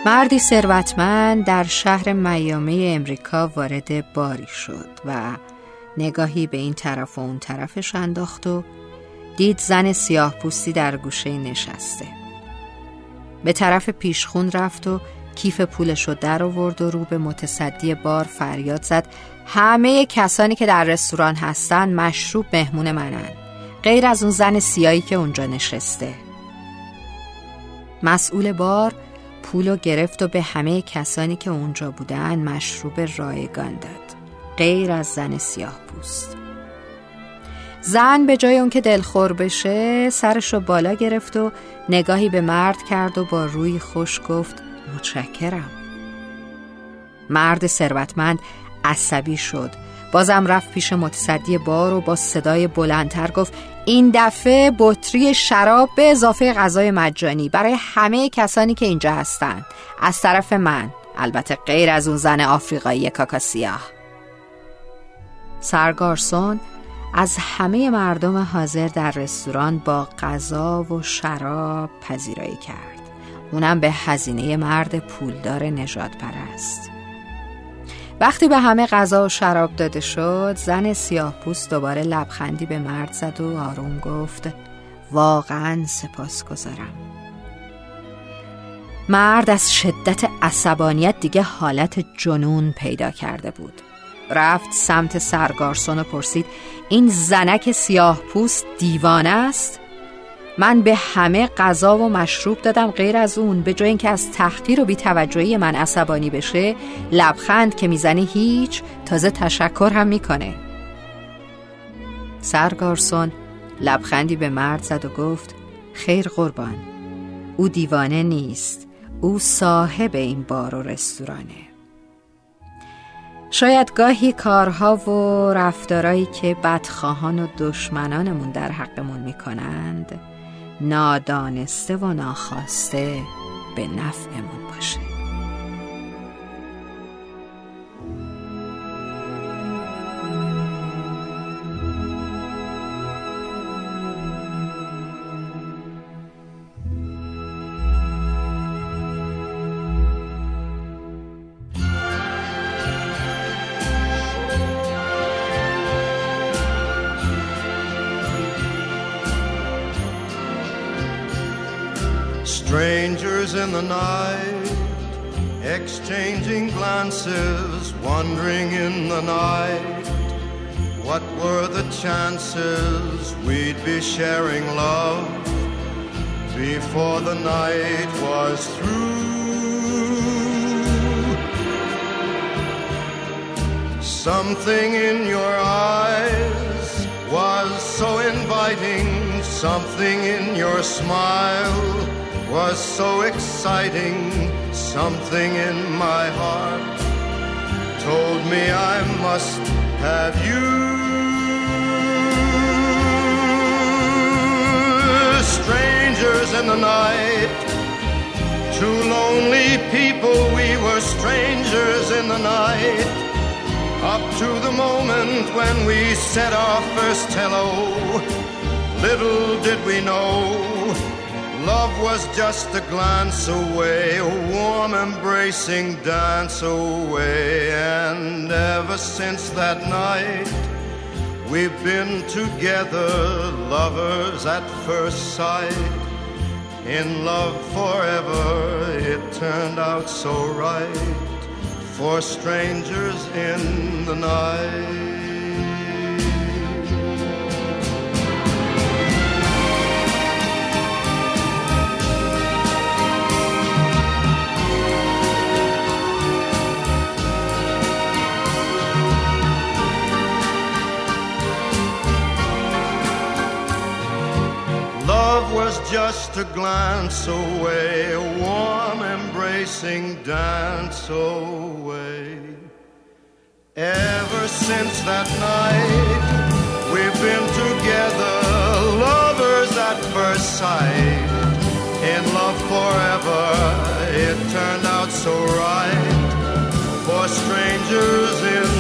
مردی ثروتمند در شهر میامی امریکا وارد باری شد و نگاهی به این طرف و اون طرفش انداخت و دید زن سیاه پوستی در گوشه نشسته. به طرف پیشخون رفت و کیف پولش رو در آورد و رو به متصدی بار فریاد زد: همه کسانی که در رستوران هستن مشروب مهمون منن، غیر از اون زن سیاهی که اونجا نشسته. مسئول بار پولو گرفت و به همه کسانی که اونجا بودن مشروب رایگان داد، غیر از زن سیاه پوست. زن به جای اون که دلخور بشه سرشو بالا گرفت و نگاهی به مرد کرد و با روی خوش گفت: متشکرم. مرد ثروتمند عصبی شد، بازم رفت پیش متصدی بار و با صدای بلندتر گفت: این دفعه بطری شراب به اضافه غذای مجانی برای همه کسانی که اینجا هستن، از طرف من، البته غیر از اون زن آفریقایی کاکا سیاه. سرگارسون از همه مردم حاضر در رستوران با غذا و شراب پذیرایی کرد، اونم به هزینه مرد پولدار نژاد پرست. وقتی به همه غذا و شراب داده شد، زن سیاه پوست دوباره لبخندی به مرد زد و آروم گفت: واقعا سپاسگزارم. مرد از شدت عصبانیت دیگه حالت جنون پیدا کرده بود. رفت سمت سرگارسون و پرسید: این زنک سیاه پوست دیوانه است؟ من به همه غذا و مشروب دادم غیر از اون، به جای اینکه از تحقیر و بی‌توجهی من عصبانی بشه، لبخند که میزنه هیچ، تازه تشکر هم میکنه. سرگارسون لبخندی به مرد زد و گفت: خیر قربان، او دیوانه نیست، او صاحب این بار و رستورانه. شاید گاهی کارها و رفتارهایی که بدخواهان و دشمنانمون در حقمون میکنند نادانسته و ناخواسته به نفعمون باشه. Strangers in the night, exchanging glances, wandering in the night. What were the chances we'd be sharing love before the night was through? Something in your eyes was so inviting, something in your smile was so exciting, something in my heart told me I must have you. Strangers in the night, two lonely people, we were strangers in the night, up to the moment when we said our first hello. Little did we know love was just a glance away, a warm embracing dance away. And ever since that night we've been together, lovers at first sight, in love forever. It turned out so right for strangers in the night. Love was just a glance away, a warm embracing dance away. Ever since that night we've been together, lovers at first sight, in love forever. It turned out so right for strangers in